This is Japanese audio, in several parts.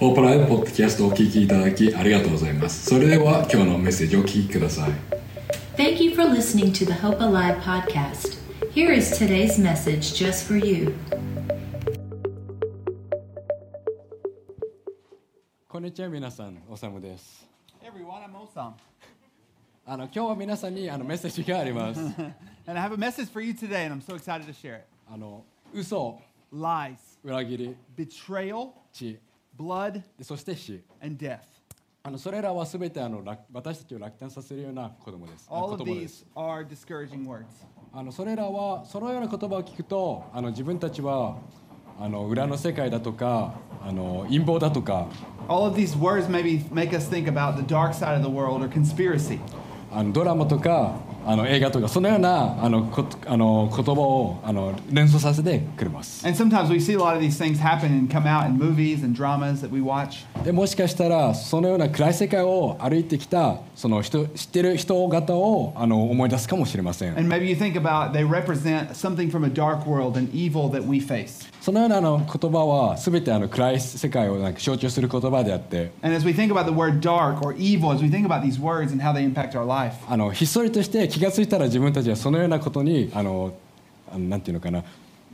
ホープライブポッドキャストをお聞きいただきありがとうございます。それでは今日のメッセージをお聞きください。 Thank you for listening to the Hope Alive podcast. Here is today's message just for you. こんにちは皆さん、おさむです。 Hey everyone, I'm Osam. 今日は皆さんにメッセージがあります。 And I have a message for you today, and I'm so excited to share it. 嘘、 Lies, 裏切り、 betrayal, 血、 blood, そして死。 and death. それらはすべて私たちを落胆させるような言葉です。 All of 言葉です these are discouraging words. それらはそのような言葉を聞くと自分たちは裏の世界だとか陰謀だとか All of these words maybe make us think about the dark side of the world or conspiracy. ドラマとか映画とかそのような言葉を連想させてくれます。 And sometimes we see a lot of these things happen and come out in movies and dramas that we watch. でもしかしたらそのような暗い世界を歩いてきたその知ってる人方を思い出すかもしれません。 And maybe you think about they represent something from a dark world and evil that we face. そのような言葉はすべて暗い世界を象徴する言葉であって、 And as we think about the word dark or evil, as we think about these words and how they impact our life, ひっそりとして気がついたら自分たちはそのようなことになんていうのかな、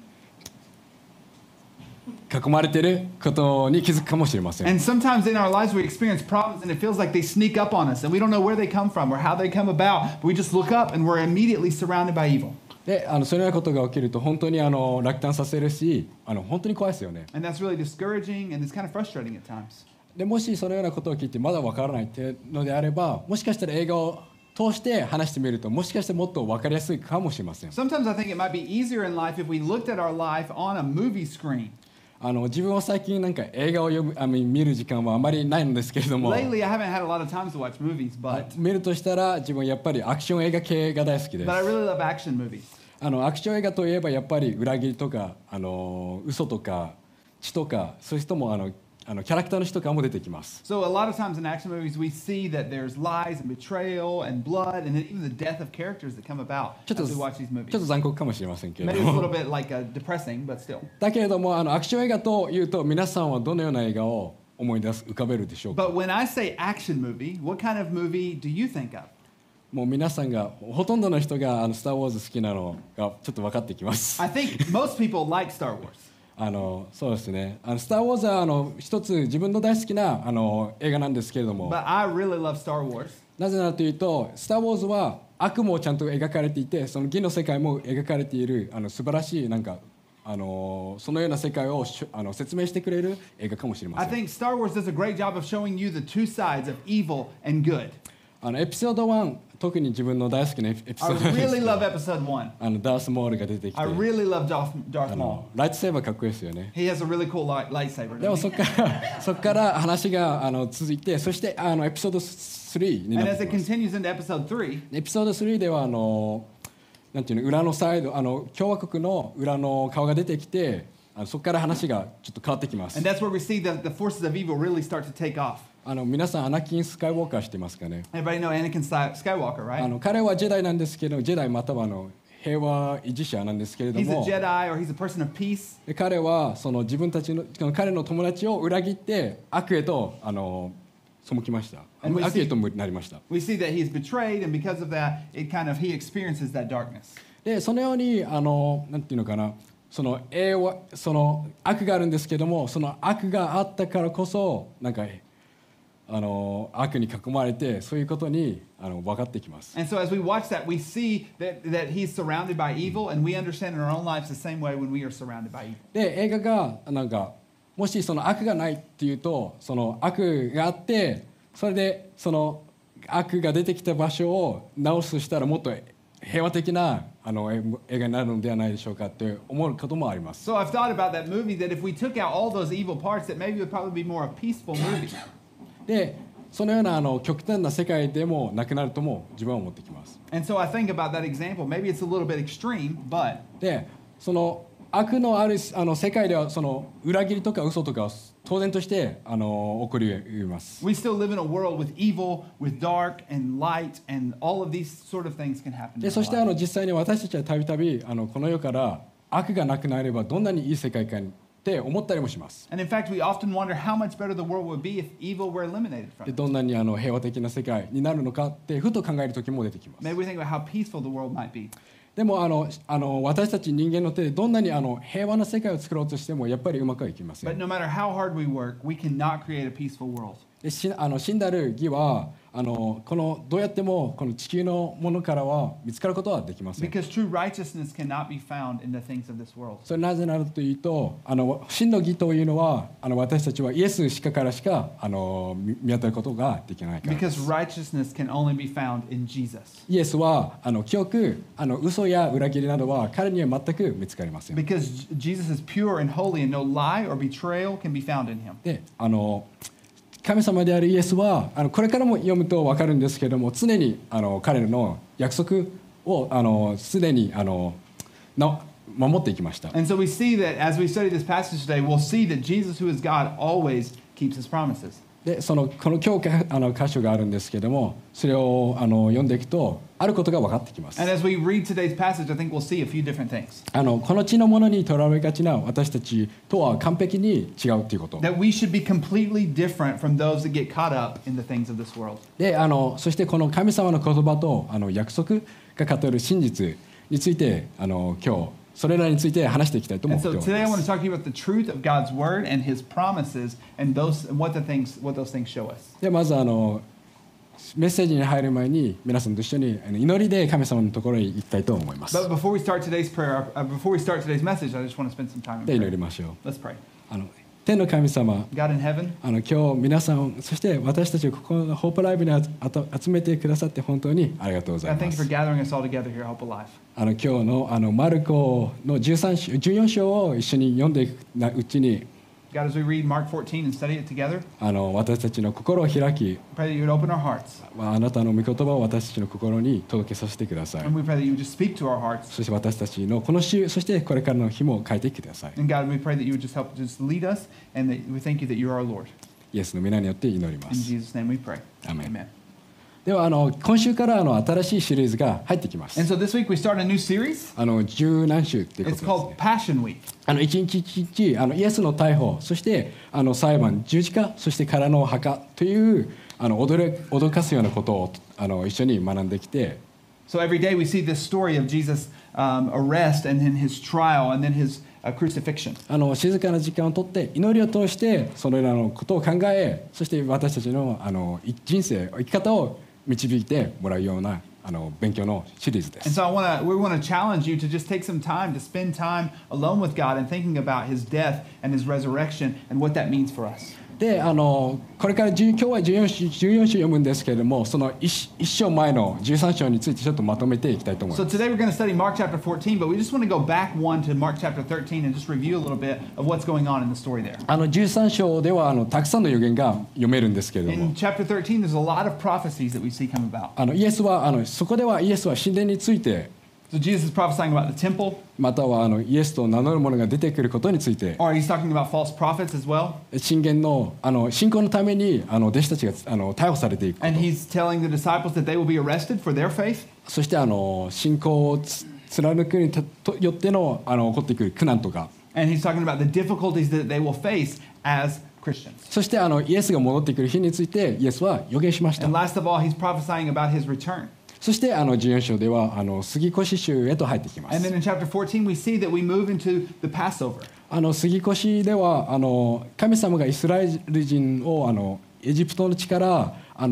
囲まれていることに気づくかもしれません。 and sometimes in our lives we experience problems and it feels like they sneak up on us and we don't know where they come from or how they come about, but we just look up and we're immediately surrounded by evil. でそういうようなことが起きると本当に落胆させるし本当に怖いですよね。 And that's really discouraging and it's kind of frustrating at times. でもしそのようなことを聞いてまだわからないっていうのであれば、もしかしたら映画を通して話してみるともしかしてもっと分かりやすいかもしれません。 Sometimes I think it might be easier in life if we looked at our life on a movie screen. 自分は最近映画を見る時間はあまりないんですけれども、 Lately I haven't had a lot of time to watch movies, but 見るとしたら自分はやっぱりアクション映画系が大好きです。 I really love action movies. アクション映画といえばやっぱり裏切りとか嘘とか血とかそういう人もキャラクターの人とかも出てきます。 So a lot of times in action movies we see that there's lies and betrayal and blood and even the death of characters that come about ちょっと as we watch these ちょっ movies. と残酷かもしれませんけれ Maybe ど it's a も little bit like depressing, but still. だけれどもアクション映画というと皆さんはどのような映画を思い浮かべるでしょうか。 But when I say action movie, what kind of movie do you think of? もう皆さんがほとんどの人がスター・ウォーズ好きなのがちょっと分かってきます。 I think most people like Star Wars. そうですね。スター・ウォーズは一つ自分の大好きな映画なんですけれども、 But I really love Star Wars なぜならというとスター・ウォーズは悪もちゃんと描かれていて、その義の世界も描かれている素晴らしいそのような世界を説明してくれる映画かもしれま I せん。 think Star Wars does a great job of showing you the two sides of evil and good. エピソード1、特に自分の大好きなエピソ I ードです really love episode 1. ダース・モールが出てきて I really love Darth Maul. ライトセーバーかっこいいですよね。 He has a really cool lightsaber. でも doesn't he? そこから話が続いて、そしてエピソード3にな And っ as て it きます。 continues into episode 3, エピソード3ではなんていうの、裏のサイド共和国の裏の顔が出てきて、そこから話がちょっと変わってきます。 and that's where we see that the forces of evil really start to take off. 皆さんアナキン・スカイウォーカー知ってますかね。 Everybody know Anakin Skywalker, right? 彼はジェダイなんですけど、ジェダイまたは平和維持者なんですけれど He's a も、 Jedi or he's a person of peace. で彼はその自分たちの彼の友達を裏切って悪へと背きました。 And we see- 悪へとなりました。 We see that he's betrayed, and because of that, he experiences that darkness. でそのようになんていうのかな、その悪があるんですけども、その悪があったからこそ悪に囲まれてそういうことに分かってきます。 And so as we watch that, we see that he's surrounded by evil, and we understand in our own lives the same way when we are surrounded by evil. で映画がもしその悪がないっていうと、その悪があってそれでその悪が出てきた場所を直すしたらもっと平和的な映画になるのではないでしょうかって思うこともあります。 So I've thought about that movie, that if we took out all those evil parts, that maybe it would probably be more a peaceful movie. でそのような極端な世界でもなくなるとも自分は思ってきます。 And so I think about that example. Maybe it's a little bit extreme, but でその悪のある世界ではその裏切りとか嘘とかは当然として起こります。 we still live in a world with evil, with dark and light, and all of these sort of things can happen. で in そ our して lives. 実際に私たちはたびたびこの世から悪がなくなればどんなにいい世界観って思ったりもします。 And in fact, we often wonder how much better the world would be if evil were eliminated from で it. どんなに平和的な世界になるのかってふと考える時も出てきます。 Maybe we think about how peaceful the world might be. でも私たち人間の手でどんなに平和な世界を作ろうとしてもやっぱりうまくはいきませ But ん。 no matter how hard we work, we cannot create a peaceful world. で死んだる義はこのどうやってもこの地球のものからは見つかることはできません。 Because true righteousness cannot be found in the things of this world. それなぜならというと真の義というのは私たちはイエスからしか見当たることができないからです。 Because righteousness can only be found in Jesus. イエスは清く嘘や裏切りなどは彼には全く見つかりません。 Because Jesus is pure and holy and no lie or betrayal can be found in him. で神様であるイエスはこれからも読むと分かるんですけれども常に彼の約束をすでに守っていきました。 And so we see that as we study this passage today, we'll see that Jesus, who is God, always keeps his promises. でこの今日箇所があるんですけれどもそれを読んでいくとあることが分かってきます。 And as we read today's passage, I think we'll see a few different things. この地のものにとらわれがちな私たちとは完璧に違うということ。 That we should be completely different from those that get caught up in the things of this world. でそしてこの神様の言葉と約束が語る真実について今日それらについて話していきたいと思 And って so おり today I ま want to す。 talk to you about the truth of God's word and his promises and what those things show us. でまずメッセージに入る前に皆さんと一緒に祈りで神様のところに行きたいと思います。 But before we start today's prayer, before we start today's message, I just want to spend some time in で祈 prayer. りましょう。 Let's pray. 天の神様、 God in heaven, 今日皆さんそして私たちをここのホープライブに集めてくださって本当にありがとうござい God, ま thank you す。 for gathering us all together here at Hope Alive. 今日のマルコの14章を一緒に読んでいくうちに God, as we read Mark 14 and study it together, 私たちの心を開き pray that you would open our hearts. あなたの御言葉を私たちの心に届けさせてください。 And we pray that you would just speak to our hearts. そして私たちのこの週そしてこれからの日も変えてください。 And God, we pray that you would just help just lead us and that we thank you that you are our Lord. イエスの皆によって祈りま In す。 Jesus' name we pray. Amen. では今週から新しいシリーズが入ってきます。 And so this week we start a new series. 十何週っていうこと It's です called ね。 Passion Week. 一日一日イエスの逮捕そして裁判十字架そしてからの墓という驚かすようなことを一緒に学んできて So every day we see this story of Jesus' arrest and then his trial and then his crucifixion. 静かな時間をとって祈りを通してそれらのことを考えそして私たちの人生生き方を導いてもらうような勉強のシリーズで And す。 so we want to challenge you to just take some time to spend time alone with God and thinking about his death and his resurrection and what that means for us. でこれから今日は14章読むんですけれどもその1章前の13章についてちょっとまとめていきたいと思い So ます。 today we're going to study Mark chapter 14, but we just want to go back one to Mark chapter 13 and just review a little bit of what's going on in the story there. 13章ではたくさんの予言が読めるんですけれども In chapter 13, there's a lot of prophecies that we see come about. イエスはそこではイエスは神殿について So Jesus is prophesying about the temple, またはイエスと名乗る者が出てくることについて or he's talking about false prophets as well. 信玄の信仰のために弟子たちが逮捕されていくこ And と he's telling the disciples that they will be arrested for their faith. そして信仰を貫くによっての起こってくる苦難とか And he's talking about the difficulties that they will face as Christians. そしてイエスが戻ってくる日についてイエスは予言しました And last of all, he's prophesying about his return. そして14章では杉越週へと入ってきま And す then in chapter 14, we see that we move into the Passover. 杉越では神様がイスラエル人をエジプトの地から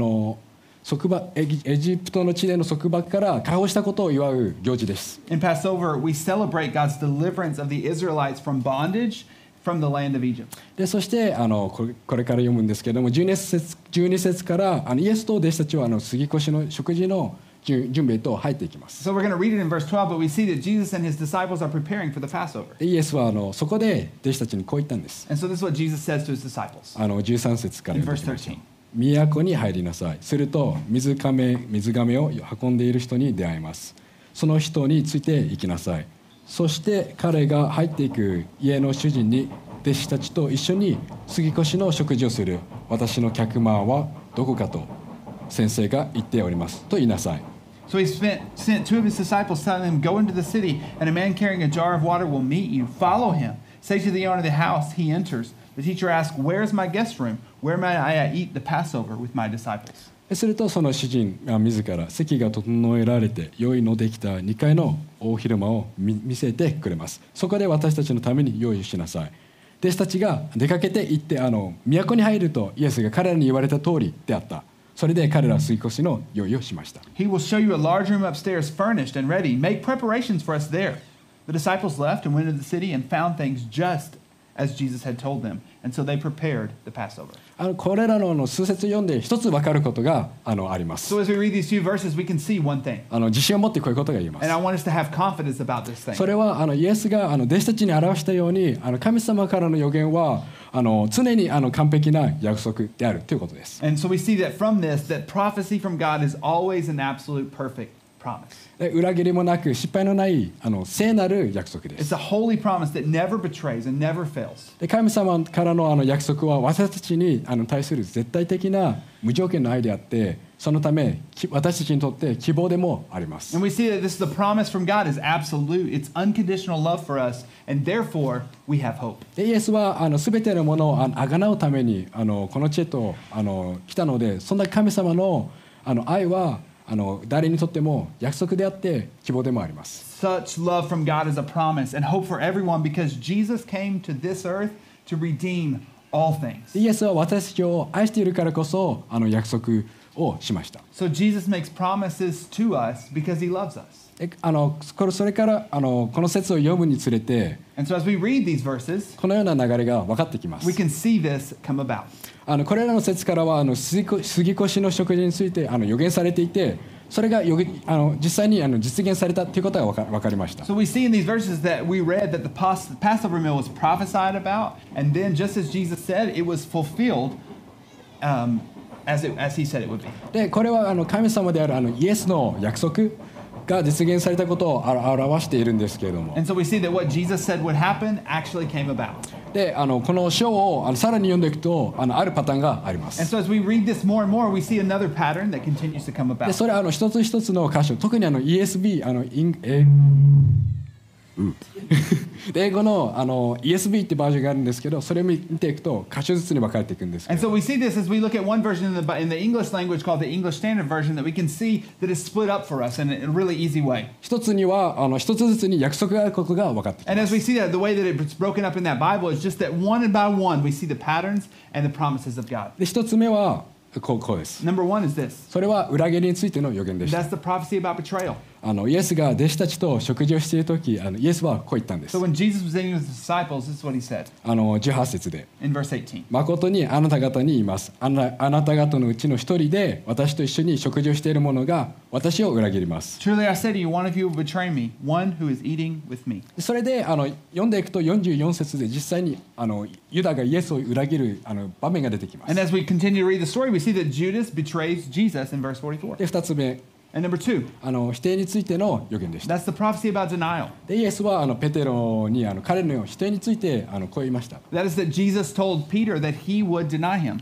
エジプトの地での束縛から解放したことを祝う行事です。 In Passover, we celebrate God's deliverance of the Israelites from bondage from the land of Egypt. でそしてこれから読むんですけれども12節からイエスと弟子たちは杉越の食事の準備へと入っていきます。 So we're going to read it in verse 12, but we see that Jesus and his disciples are preparing for the Passover. でイエスはそこで弟子たちにこう言ったんです。 And so this is what Jesus says to his disciples 13節から in 読 verse みましょう。 13. 都に入りなさい。すると水がめを運んでいる人に出会います。その人について行きなさい。そして彼が入っていく家の主人に弟子たちと一緒に杉越の食事をする私の客間はどこかと先生が言っておりますと言いなさい。 So he sent two of his disciples, telling them, "Go into the city, and a man carrying a jar of water will meet you. Follow him. Say to the owner of the house, he enters. The teacher asks, "Where is my guest room? Where may I eat the Passover with my disciples?" するとその主人が自ら席が整えられて用意のできた2階の大広間を見せてくれます。そこで私たちのために用意しなさい。弟子たちが出かけて行って都に入るとイエスが彼らに言われた通りであった。それで彼らは吸い越しの用意をしました。 He will show you a large room upstairs, furnished and ready. Make preparations for us there. The disciples left and went into the city and found things just as Jesus had told them. And so they prepared the Passover. これらの数節読んで一つ分かることがあります。 So as we read these few verses, we can see one thing. 自信を持ってこういうことが言えます。 And I want us to have confidence about this thing. それはイエスが弟子たちに表したように神様からの予言は常に完璧な約束であるということです。 And so we see that from this, that prophecy from God is always an absolute perfect promise. 裏切りもなく失敗のない聖なる約束で It's す。 a holy promise that never betrays and never fails. で神様からの約束は私たちに対する絶対的な無条件の愛であって、そのため私たちにとって希望でもあります。 And we see that this is the promise from God is absolute. It's unconditional love for us, and therefore we have hope. でイエスは全てのものをあがなうためにこの地へと来たので、そんな神様の愛は誰にとっても約束であって希望でもあります。 Such love from God is a promise and hope for everyone because Jesus came to this earth to redeem all things. イエスは私たちを愛しているからこそ約束をしました。 So Jesus makes promises to us because he loves us. それからこの説を読むにつれて And so as we read these verses, このような流れが分かってきます。 we can see this come about. これらの説からは杉越の食事について予言されていて、それが実際に実現されたということが分かりました。 So we see in these verses that we read that the Passover meal was prophesied about, and then just as Jesus said, it was fulfilled as he said it would be. でこれは神様であるイエスの約束が実現されたことを表しているんですけれども、 And so we see that what Jesus said would happen actually came about. でこの章をさらに読んでいくとあるパターンがありま And す。 so as we read this more and more, we see another pattern that continues to come で about. それは一つ一つの箇所、特にESV 英語のESV ってバージョンがあるんですけど、それを見ていくと箇所ずつに分かれていくんですけ And ど、 so we see this as we look at one version in the English language called the English Standard Version that we can see that is split up for us in a really easy way. 一つには一つずつに約束があることが分かってき And ま as す。 we see that, the way that it's broken up in that Bible is just that one by one we see the patterns and the promises of God. で一つ目はこうです。 Number one is this. それは裏切りについての予言でした。 That's the prophecy about betrayal. イエスが弟子たちと食事をしているとき、イエスはこう言ったんです。 So when Jesus was eating with his disciples, this is what he said 18節で、 in verse 18. 誠にあなた方に言います。あなた方のうちの一人で私と一緒に食事をしている者が私を裏切ります。 Truly I say to you, one of you will betray me, one who is eating with me. それで読んでいくと44節で実際にユダがイエスを裏切る場面が出てきます。 And as we continue to read the story, we see that Judas betrays Jesus in verse 44. で2つ目、 And number two, 否定についての予言でした。 that's the prophecy about denial. でイエスはペテロに彼の否定についてこう言いました。 That is that Jesus told Peter that he would deny him.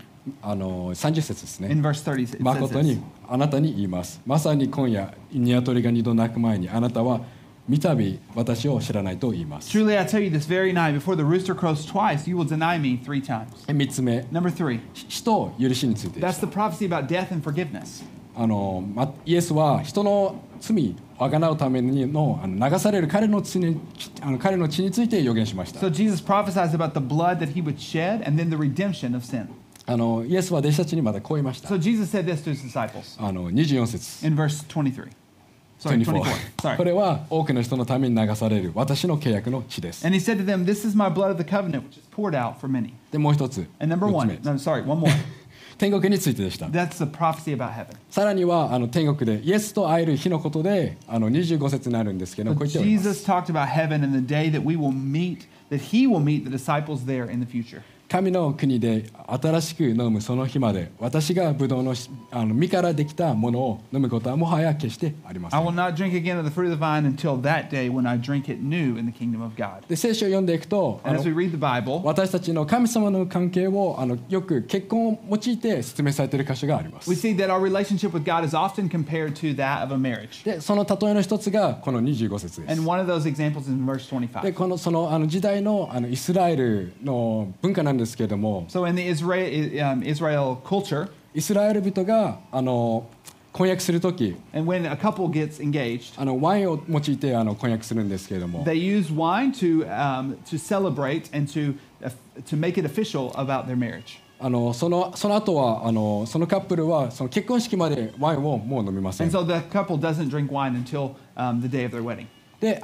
30節ですね。 In verse 30, it says 誠 this. にあなたに言います。まさに今夜鶏が2度鳴く前にあなたは三度私を知らないと言います。 Truly I tell you, this very night, before the rooster crows twice, you will deny me 3 times. 3つ目、 Number 3, 死と許しについてで that's す。 the prophecy about death and forgiveness. イエスは人の罪をあがなうためにの流される彼の血について予言しました。 So Jesus prophesies about the blood that he would shed and then the redemption of sin. イエスは弟子たちにまだこう言いました。 So Jesus said this to his disciples 24節 in verse 23. Sorry, 24. こ Sorry. れは多くの人のために流される私の契約の血です。 And he said to them, this is my blood of the covenant, which is poured out for many. でもう一つ、 And number 4つ one, 目 no, sorry, one more. 天国についてでした。 That's the prophecy about heaven. さらには天国でイエスと会える日のことで25節になるんですけど、 So こう言っております。 Jesus talked about heaven and the day that we will meet, that he will meet the disciples there in the future. 神の国で新しく飲むその日まで私がブドウの実からできたものを飲むことはもはや決してありませ I will ん。 not drink again of the fruit of the vine until that day when I drink it new in the kingdom of God. で聖書を読んでいくと And as we read the Bible, 私たちの神様の関係をよく結婚を用いて説明されている箇所があります。 we see that our relationship with God is often compared to that of a marriage. でその例えの一つがこの25節です。 And one of those examples is in verse で 25. このその時代のイスラエルの文化なんですけれども、 So in the Israel culture, イスラエル人が婚約するとき and when a couple gets engaged, ワインを用いて婚約するんですけれども、 they use wine to celebrate and to make it official about their marriage. その後はそのカップルはその結婚式までワインをもう飲みません。 And so the couple doesn't drink wine until the day of their wedding. で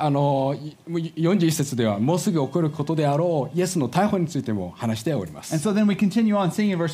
41節ではもうすぐ起こることであろうイエスの逮捕についても話しております。 And so then we continue on seeing in verse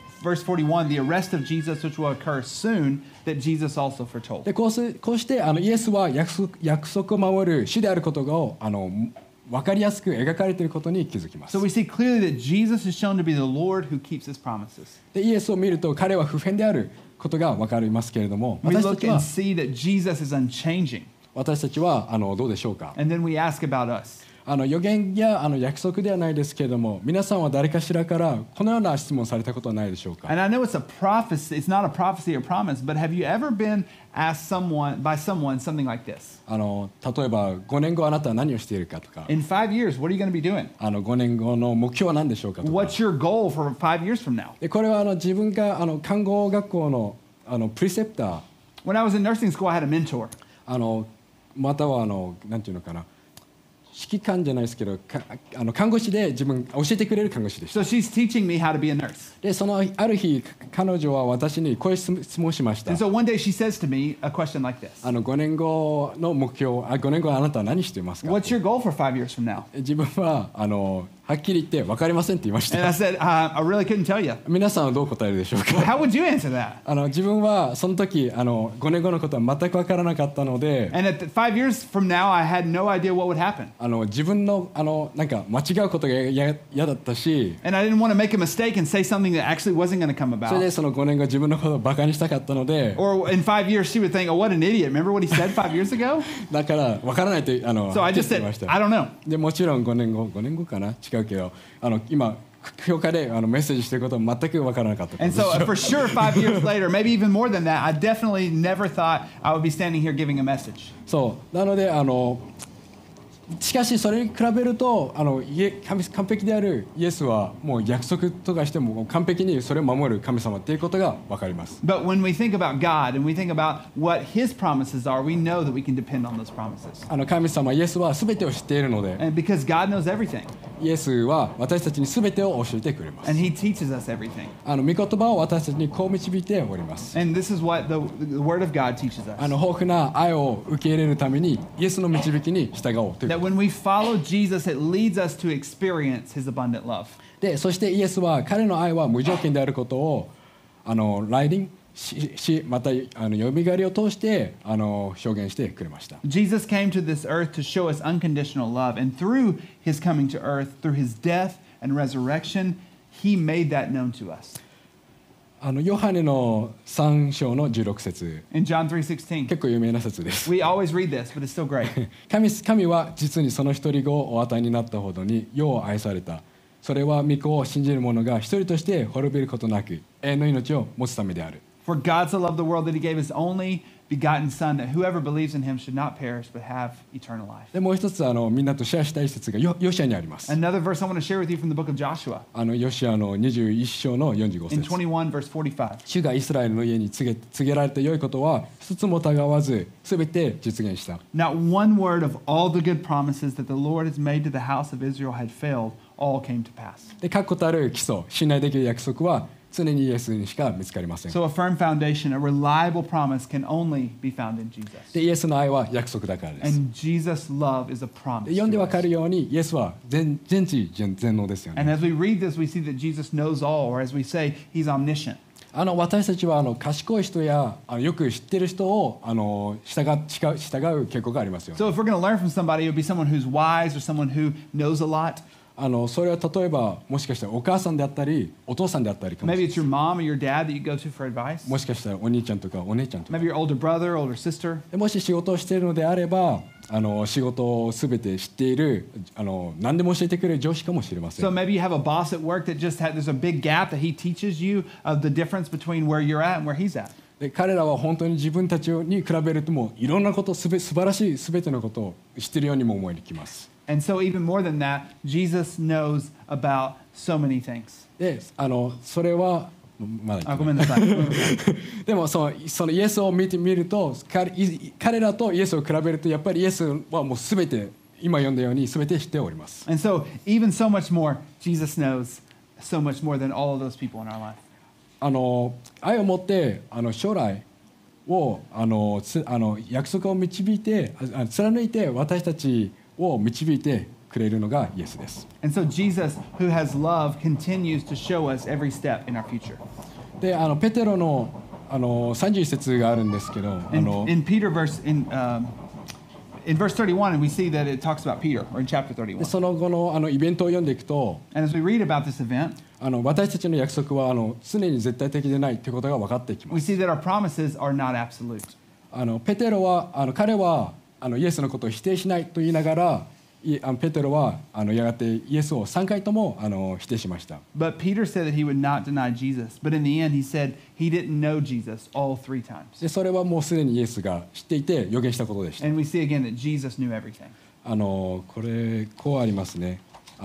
41 the arrest of Jesus which will occur soon that Jesus also foretold. でこうしてイエスは約束を守る主であることが分かりやすく描かれていることに気づきます。 So we see clearly that Jesus is shown to be the Lord who keeps his promises. でイエスを見ると彼は不変であることが分かりますけれども、 We 私た look ちは and see that Jesus is unchanging. どうでしょうか。 And then we ask about us. 予言や約束ではないですけれども、皆さんは誰かしらからこのような質問されたことはないでしょうか。 And I know it's a prophecy, it's not a prophecy or promise, but have you ever been asked by someone something like this? 例えば5年後あなたは何をしているかとか、 In 5 years, what are you going to be doing? 5年後の目標は何でしょうかとか。 What's your goal for 5 years from now? でこれは自分が看護学校のプリセプター When I was in nursing school, I had a mentor. またはなんていうのかな、指揮官じゃないですけど看護師で自分教えてくれる看護師でした。 So she's teaching me how to be a nurse. である日彼女は私にこういう質問をしました。 And so one day she says to me a question like this. 5年後の目標5年後あなたは何していますか。 What's your goal for 5 years from now? 自分ははっきり言って分かりませんって言いまし And I た。 said, I really couldn't tell you. 皆さんはどう答えるでしょう Well, か。 how would you answer that? 自分はその時5年後のことは全く分からなかったので、 And at 5 years from now, I had no idea what would happen. 自分のなんか間違うことが嫌だったし、 And I didn't want to make a mistake and say something that actually wasn't going to come それで about. その5年後自分のことをバカにしたかったので、 Or in 5 years, she would think, oh, what an idiot. Remember what he said 5 years ago? だから分からないと So I just 言 said, いました。 I don't know. でもちろん5年後かな違うけど今教会でメッセージしてることは全く分からなかった。 And so for sure, 5 years later, maybe even more than that, I definitely never thought I would be standing here giving a message. そうなのでしかしそれに比べると完璧であるイエスはもう約束とかしても完璧にそれを守る神様っていうことが分かります。 But when we think about God and we think about what his promises are, we know that we can depend on those promises. 神様イエスは全てを知っているので、 And because God knows everything, イエスは私たちに全てを教えてくれます。 and he teaches us everything. 御言葉を私たちにこう導いております。 And this is what the Word of God teaches us. 豊富な愛を受け入れるためにイエスの導きに従おうという That when we follow Jesus, it leads us to experience his abundant love. で、そしてイエスは彼の愛は無条件であることを来臨しまたよみがえりを通して表現してくれました。 Jesus came to this earth to show us unconditional love, and through his coming to earth, through his death and resurrection, he made that known to us. ヨハネの3章の16節 In John 3:16, 結構有名な説です。 we always read this, but it's still great. 神は実にその一人子をお与えになったほどに世を愛された。それは御子を信じる者が一人として滅びることなく永遠の命を持つためである。 For God so loved the world that he gave his only begotten Son, that whoever believes in him should not perish but have eternal life. でもう一つみんなとシェアしたい説がヨシアにあります。 Another verse I want to share with you from the book of Joshua, ヨシアの21章の45 in 節 21 verse 45. 主がイスラエルの家に告げられた良いことは一つも疑わず全て実現した。 Not one word of all the good promises that the Lord has made to the house of Israel had failed, all came to pass. で確固たる基礎信頼できる約束は常にイエスにしか見つかりません。 So a firm foundation, a reliable promise can only be found in Jesus. でイエスの愛は約束だからです。 And Jesus' love is a で promise. 読んで to わか us. るようにイエスは全知全能ですよ And ね。 as we read this, we see that Jesus knows all, or as we say, he's omniscient. 私たちは賢い人やよく知ってる人を従う傾向がありますよね。 So if we're going to learn from somebody, it would be someone who's wise or someone who knows a lot. それは例えばもしかしたらお母さんであったりお父さんであったりかもし Maybe れ it's your mom or your dad that you go to for advice. もしかしたらお兄ちゃんとかお姉ちゃんとか Maybe your older brother, older sister. でもし仕事をしているのであれば仕事を全て知っている何でも教えてくれる上司かもしれませ So ん maybe you have a boss at work that just had, there's a big gap that he teaches you of the difference between where you're at and where he's at. で彼らは本当に自分たちに比べるともういろんなこと素晴らしい全てのことを知っているようにも思えてきます And so even more than that, Jesus knows about so many things. でそれはまだ言ってないごめんなさい。 でもそのイエスを見てみると彼らとイエスを比べるとやっぱりイエスはもう全て今読んだように全て知っております And so even so much more, Jesus knows so much more than all of those people in our life. 愛を持って将来を約束を導いて貫いて私たちを導いてくれるのがイエスです And so Jesus, who has love, continues to show us every step in our future. でペテロの31節があるんですけど In Peter verse in verse 31, and we see that it talks about Peter, or in chapter 31. でその後のイベントを読んでいくと And as we read about this event, 私たちの約束は常に絶対的でないということが分かってきま we す see that our promises are not absolute. ペテロは彼はイエスのことを否定しないと言いながらペテロはやがてイエスを3回とも否定しました But Peter said that he would not deny Jesus. But in the end, he said he didn't know Jesus all 3 times. でそれはもうすでにイエスが知っていて予言したことでした And we see again that Jesus knew everything. これこうありますね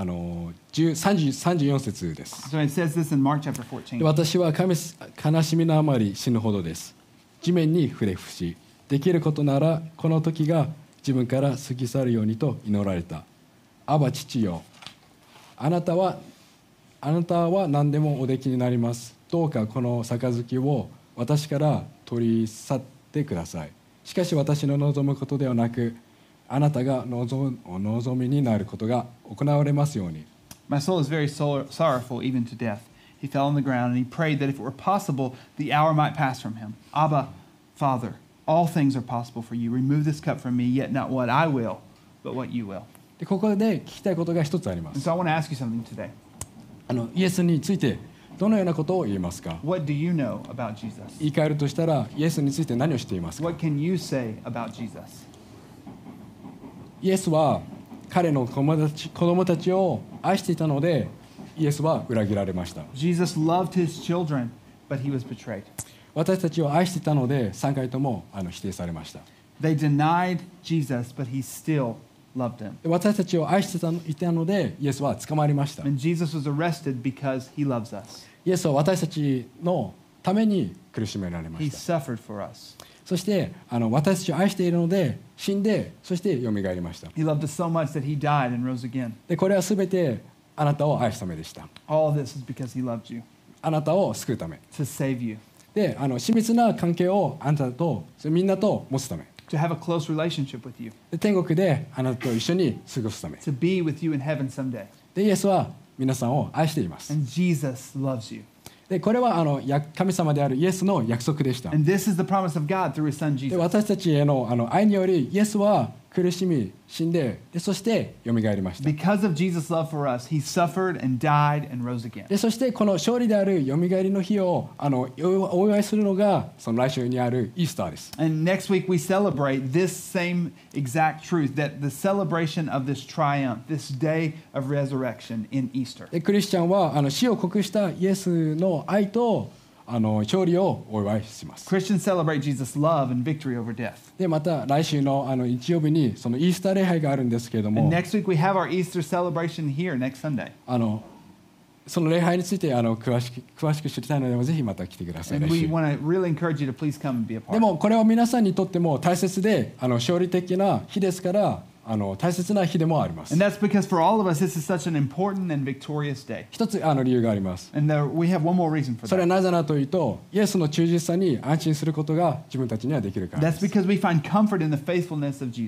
34節です So it says this in Mark chapter で 14. 私は悲しみのあまり死ぬほどです地面に触れ伏しできることならこの時が自分から過ぎ去るようにと祈られたアバ父よあなたは何でもおできになりますどうかこの杯を私から取り去ってくださいしかし私の望むことではなくあなたがお望みになることが行われますように My soul is very sorrowful, even to death. He fell on the ground and he prayed that if it were possible, the hour might pass from him. Abba, Father, all things are possible for you. Remove this cup from me, yet not what I will, but what you will. でここで聞きたいことが一つありま And す so I want to ask you something today. イエスについてどのようなことを言えますか What do you know about Jesus? 言い換えるとしたらイエスについて何をしていますか What can you say about Jesus? イエスは彼の子供たちを愛していたのでイエスは裏切られました Jesus loved his children, but he was betrayed. 私たちを愛していたので3回とも否定されました They denied Jesus, but he still loved them. で私たちを愛していたのでイエスは捕まりました And Jesus was arrested because he loves us. イエスは私たちのために苦しめられま He した suffered for us. そして私たちを愛しているので死んでそしてよみがえりました He loved us so much that he died and rose again. でこれは全てあなたを愛すためでした All this is because he loved you, あなたを救うため to save you, で親密な関係をあなたとみんなと持つため to have a close relationship with you, で天国であなたと一緒に過ごすため to be with you in heaven someday. でイエスは皆さんを愛しています And Jesus loves you. でこれは神様であるイエスの約束でした And this is the promise of God through his son で Jesus. 私たちへの愛によりイエスは苦しみ死んでそしてよみがえりました Because of Jesus' love for us, he suffered and died and rose again. でそしてこの勝利であるよみがえりの日をお祝いするのがその来週にあるイースターです And next week we celebrate this same exact truth, that the celebration of this triumph, this day of resurrection in Easter. でクリスチャンは死を告したイエスの愛と勝利をお祝いします Christians celebrate Jesus' love and victory over death. でまた来週の日曜日にそのイースター礼拝があるんですけれども And next week we have our Easter celebration here next Sunday. その礼拝について詳しく知りたいのでぜひまた来てください And 来 we 週 want to really encourage you to please come and be a で part. もこれは皆さんにとっても大切で勝利的な日ですから大切な日でもあります And that's because for all of us, this is such an important and victorious day. 一つ理由があります And we have one more reason for それは that. なぜなのというとイエスの忠実さに安心することが自分たちにはできるからで That's す because we find comfort in the faithfulness of Jesus.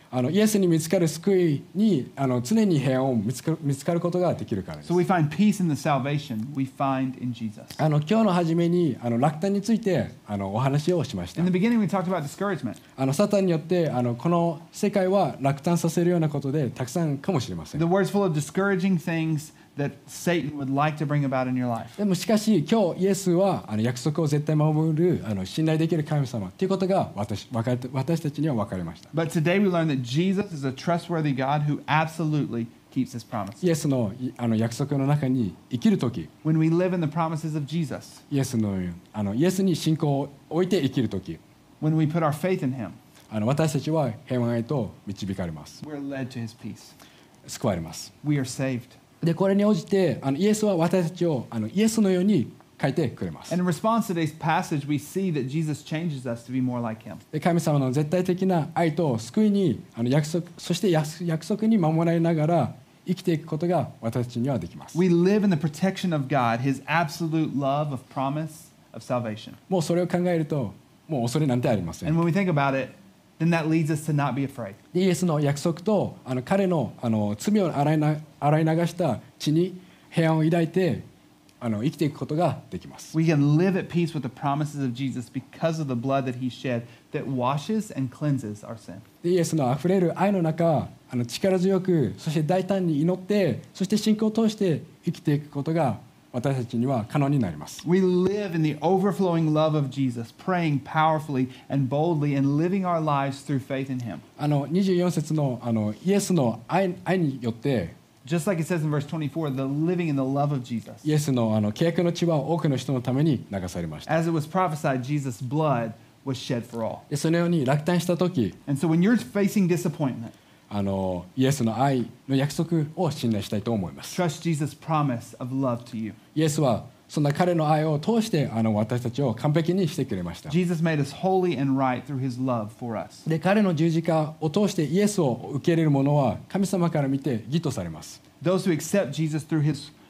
イエスに見つかる救いに常に平安を見つかることができるからです。 So we find peace in the salvation we find in Jesus. 今日の初めに落胆についてお話をしました。 In the beginning, we talked about discouragement. サタンによってこの世界は落胆させるようなことでたくさんかもしれません。 The word's full of discouraging things that Satan would like to bring about in your life. でもしかし今日イエスは約束を絶対守る信頼できる神様ということが私たちには分かりました。 But today we learn that Jesus is a trustworthy God who absolutely keeps his promises. イエスの約束の中に生きるとき、 When we live in the promises of Jesus, イエスに信仰を置いて生きるとき、 when we put our faith in him, 私たちは平安へと導かれます。 we're led to his peace. 救われます。 We are saved. でこれに応じてイエスは私たちをイエスのように変えてくれます。 And in response to today's passage, we see that Jesus changes us to be more like him. で神様の絶対的な愛と救いにそして約束に守られながら生きていくことが私たちにはできます。 We live in the protection of God, his absolute love of promise of salvation. もうそれを考えるともう恐れなんてありません。 And when we think about it, then that leads us to not be afraid. イエスの約束と彼の罪を洗い流した血に平安を抱いて生きていくことができます。 We can live at peace with the promises of Jesus because of the blood that he shed that washes and cleanses our sin. でイエスのあふれる愛の中力強くそして大胆に祈ってそして信仰を通して生きていくことが私たちには可能になります。 We live in the overflowing love of Jesus, praying powerfully and boldly and living our lives through faith in him. 24節のイエスの愛によって Just like it says in verse 24, the living in the love of Jesus. イエスの契約の血は多くの人のために流されました。 As it was prophesied, Jesus' blood was shed for all. でそのように落胆した時 And so when you're facing disappointment, イエスの愛の約束を信頼したいと思います。 trust Jesus' promise of love to you. イエスはそんな彼の愛を通して私たちを完璧にしてくれました。 Jesus made us holy and right through his love for us. で彼の十字架を通してイエスを受け入れる者は神様から見て義とされます。 Those who accept Jesus through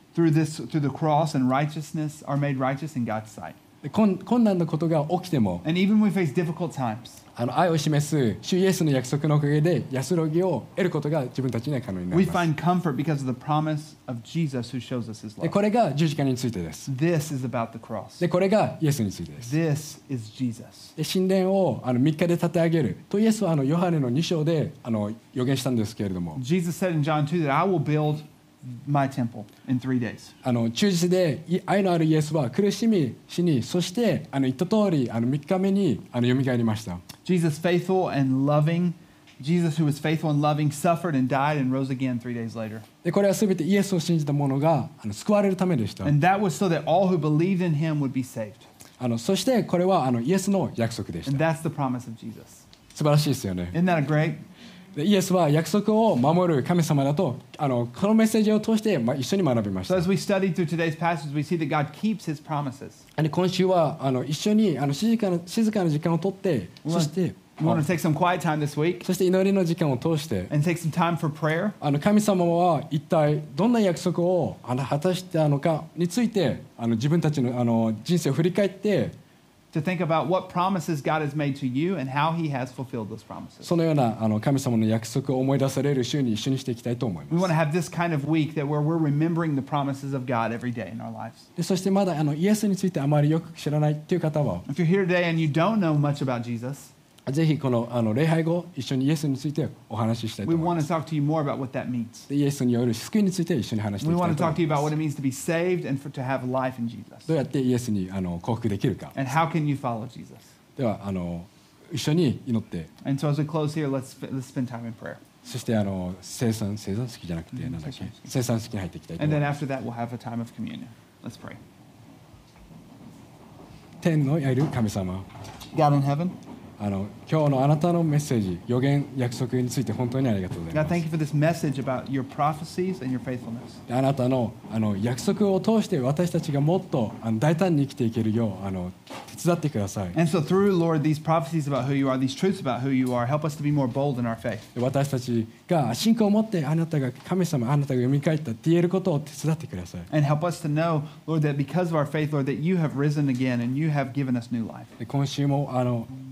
the cross and righteousness are made righteous in God's sight. で困難なことが起きても And even when we face difficult times, 愛を示す主イエスの約束のおかげで安らぎを得ることが自分たちには可能にな we ります。 find comfort because of the promise of Jesus who shows us his で love. これが十字架についてです。 This is about the cross. でこれがイエスについてです。 This is Jesus. で神殿を3日で建て上げるとイエスはヨハネの2章で予言したんですけれども Jesus said in John 2 that I will build my temple in 3 days. 忠実で愛のあるイエスは苦しみ死にそして言った通り3日目によみがえりました。 Jesus faithful and loving, Jesus who was faithful and loving suffered and died and rose again 3 days later. でこれは全てイエスを信じた者が救われるためでした。 And that was so that all who believed in him would be saved. そしてこれはイエスの約束でし And た。 that's the promise of Jesus. 素晴らしいですよね。 Isn't that great? でイエスは約束を守る神様だとこのメッセージを通して一緒に学びまし So た。 as we studied through today's passage, we see that God keeps his promises. で今週は一緒に静かな時間をとってそして We want to take some quiet time this week そして祈りの時間を通して and take some time for prayer. 神様は一体どんな約束を果たしたのかについて自分たちの人生を振り返って To think about what promises God has made to you and how he has fulfilled those promises. そのような神様の約束を思い出される週に一緒にしていきたいと思い We ま want す。 to have this kind of week that where we're remembering the promises of God every day in our lives. でそしてまだイエスについてあまりよく知らないという方は If you're here today and you don't know much about Jesus, ぜひこの礼拝後一緒にイエスについてお話ししたいと we 思い want ま to す。 talk to you more about what that means. でイエスによる救いについて一緒に話して We いきた want い to と talk 思 to い you ま about す。 what it means to be saved and to have life in Jesus. どうやってイエスに降伏できるか。 And how can you follow Jesus? では一緒に祈って、 And so as we close here, let's spend time in prayer. そして生産式じゃなくてなんだっけ、生産式に入っていきたいと And 思い then ます。 after that, we'll have a time of communion. Let's pray. 天のいる神様、 God in heaven, 今日のあなたのメッセージ、予言、約束について本当にありがとうござい God, ま thank す。 you for this message about your prophecies and your faithfulness. あなたの約束を通して私たちがもっと大胆に生きていけるよう手伝ってください。 And so through, Lord, these prophecies about who you are, these truths about who you are, help us to be more bold in our faith. 私たちが信仰を持ってあなたが神様、あなたが蘇ったって言えることを手伝ってください。 And help us to know, Lord, that because of our faith, Lord, that you have risen again and you have given us new life. で今週も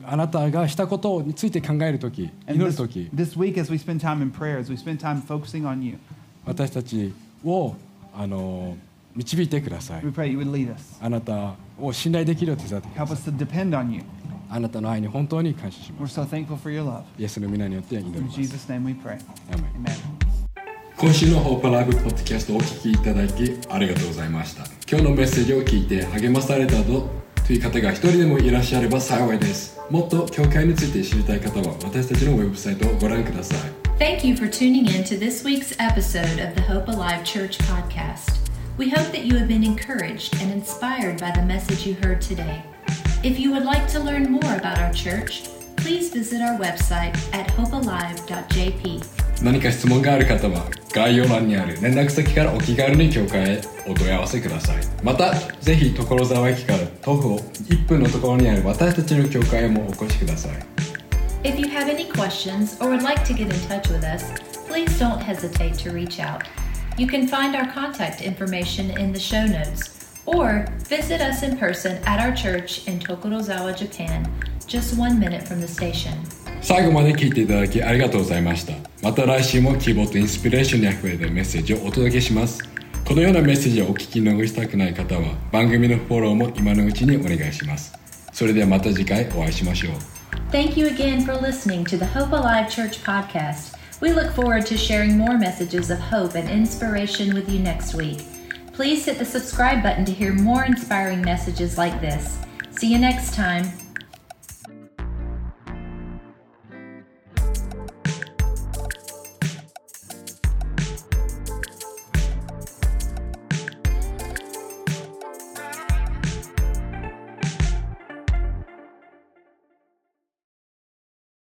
あなたがしたことについて考えるとき、 And 祈るとき、 this week, as we spend time in prayer, as we spend time focusing on you, 私たちを導いてください。 we pray you would lead us. あなたを信頼できるよう手伝ってくだ Help さい。 us to depend on you. あなたの愛に本当に感謝し We're ます。 so thankful for your love. イエスの皆によって祈り In ます。 Jesus' name we pray. アーメン。 Amen. 今週のホープライブポッドキャストをお聞きいただきありがとうございました。今日のメッセージを聞いて励まされたという方が一人でもいらっしゃれば幸いです。もっと教会について知りたい方は私たちのウェブサイトをご覧ください。 Thank you for tuning in to this week's episode of the Hope Alive Church podcast. We hope that you have been encouraged and inspired by the message you heard today. If you would like to learn more about our church, please visit our website at hopealive.jp. 何か質問がある方は概要欄にある連絡先からお気軽に教会へお問い合わせください。またぜひ所沢駅から徒歩1分のところにある私たちの教会へもお越しください。 If you have any questions or would like to get in touch with us, please don't hesitate to reach out. You can find our contact information in the show notes or visit us in person at our church in Tokorozawa, Japan, just 1 minute from the station. 最後まで聞いていただきありがとうございました。また来週も希望とインスピレーションにあふれたメッセージをお届けします。このようなメッセージをお聞き逃したくない方は番組のフォローも今のうちにお願いします。それではまた次回お会いしましょう。 Thank you again for listening to the Hope Alive Church podcast. We look forward to sharing more messages of hope and inspiration with you next week. Please hit the subscribe button to hear more inspiring messages like this. See you next time.